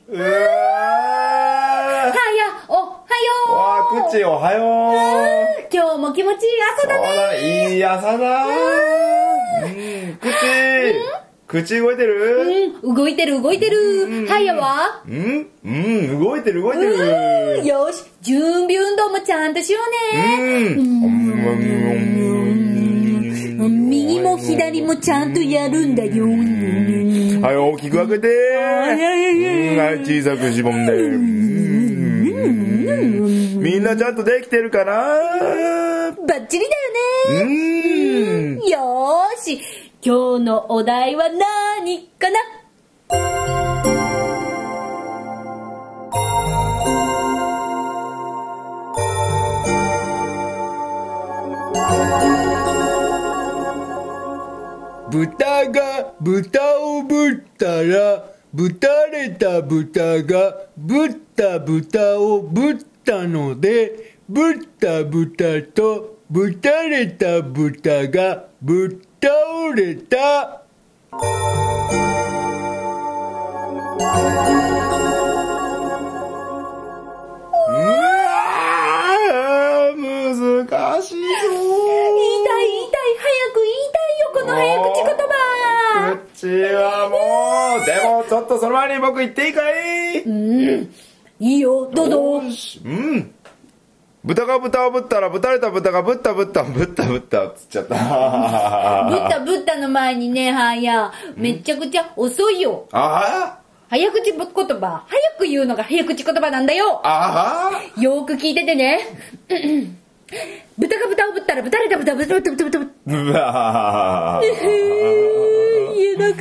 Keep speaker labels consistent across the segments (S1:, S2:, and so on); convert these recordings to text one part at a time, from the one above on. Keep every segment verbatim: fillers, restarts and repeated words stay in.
S1: うわー。は
S2: や、おはよう。
S1: わー、くちおはよう。
S2: 今日も気持ちいい朝だね。
S1: そうだね、いい朝だー。うん、くち口動いてる？
S2: うん、動いてる動いてる。はやは？
S1: うん、うん、動いてる動いてる。
S2: よし、準備運動もちゃんとしようね。うん。右も左もちゃんとやるんだよ。
S1: はい、大きく開けて。はい、小さくしぼんで。みんなちゃんとできてるかな？
S2: バッチリだよね。よーし、今日のお題は何かな？
S1: 豚が豚をぶったら、ぶたれた豚がぶった豚をぶったので、ぶった豚とぶたれた豚がぶっ倒れた。うわー、難しいぞー。
S2: 言いたい言いたい、早く言いたいよ、この早口言葉。
S1: 口はもう、でもちょっとその前に僕言っていいかい？
S2: うん、いいよ、どうぞ。
S1: うん。豚が豚をぶったら、ぶたれた豚がぶったぶったぶったぶったっつっちゃった。
S2: ぶったぶったの前にね、はや、めちゃくちゃ遅いよ。
S1: ああ、
S2: 早口言葉、早く言うのが早口言葉なんだよ。
S1: あ
S2: あ、よーく聞いててね。豚が豚をぶったら、ぶたれた豚ぶったぶったぶったぶったぶった。
S1: うわ
S2: 言えなかった。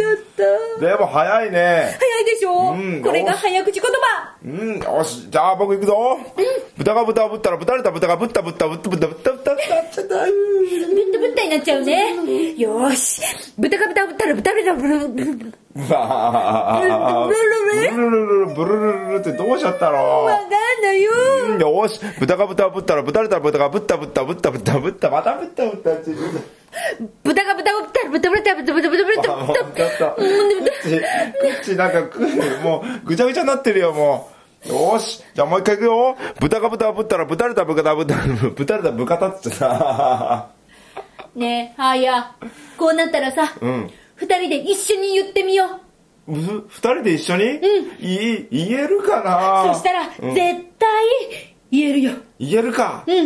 S1: でも早いね。
S2: 早いでしょ、うん、これが早口言葉。
S1: うん、よし、じゃあ僕行くぞ。うん、豚が豚をぶったら、ぶたれた豚がぶったぶったぶったぶったぶったぶったぶったちゃった。ぶ
S2: ったぶったになっちゃうね。よし。豚が豚をぶったら、ぶたれたぶったぶったぶった。
S1: うわブルルルルルブルルルルってどうしちゃったの？
S2: わかんないよ。
S1: よし、豚が豚をぶったら、ぶたれた豚がぶったぶったぶったぶったぶったまたぶったぶったって
S2: 豚が豚をぶったら、ぶたぶったぶったぶったぶったぶったぶったぶった。
S1: 口なんかもうぐちゃぐちゃになってるよ、もう。よし、じゃあもう一回いくよ。豚が豚をぶったら、ぶたれた豚がぶったぶたれた豚ってさ。
S2: ねえ、はや、こうなったらさ、うん二人で一緒に言ってみよ
S1: う。二人で一緒に？うん。い、言えるかな？
S2: そしたら、うん、絶対言えるよ。
S1: 言えるか。
S2: うん。うん。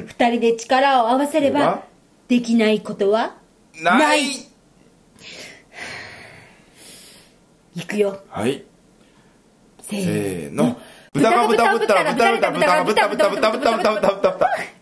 S2: 二人で力を合わせれば、できないことは
S1: ない。ない。
S2: いくよ。
S1: はい。
S2: せーの。
S1: 豚が豚ぶったら、豚が豚が豚が豚豚豚豚豚豚豚豚。